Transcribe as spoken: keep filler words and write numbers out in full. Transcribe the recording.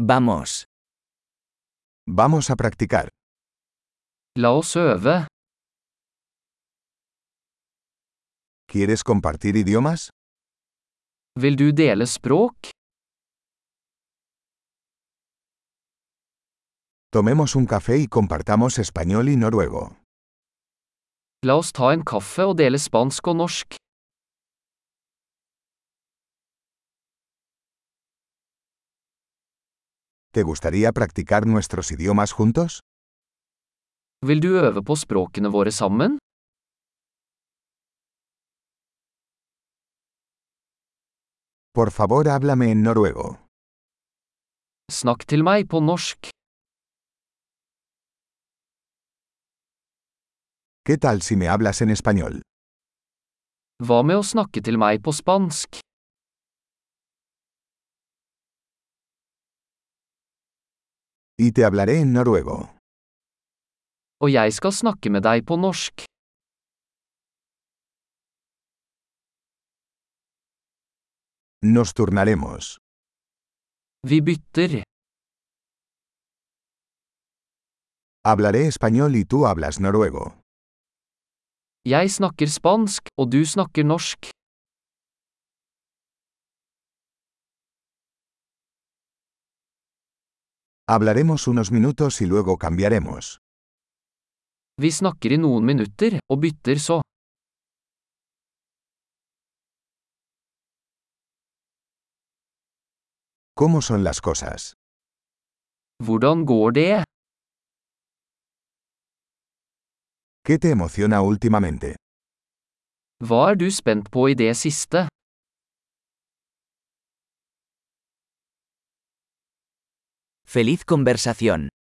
Vamos. Vamos a practicar. La oss øve. ¿Quieres compartir idiomas? Vil du dele språk? Tomemos un café y compartamos español y noruego. La oss ta en kaffe og dele spansk og norsk. ¿Te gustaría practicar nuestros idiomas juntos? Vil du øve på språkene våre sammen? Por favor, háblame en noruego. Snakk til meg på norsk. ¿Qué tal si me hablas en español? Hva med å snakke til meg på spansk? Y te hablaré en noruego. Og jeg skal snakke med deg på norsk. Nos turnaremos. Vi bytter. Hablaré español y tú hablas noruego. Jeg snakker spansk, og du snakker norsk. Hablaremos unos minutos y luego cambiaremos. Vi snakker i noen minutter, og bytter så. ¿Cómo son las cosas? Hvordan går det? ¿Qué te emociona últimamente? Hva er du spent på i det siste? Feliz conversación.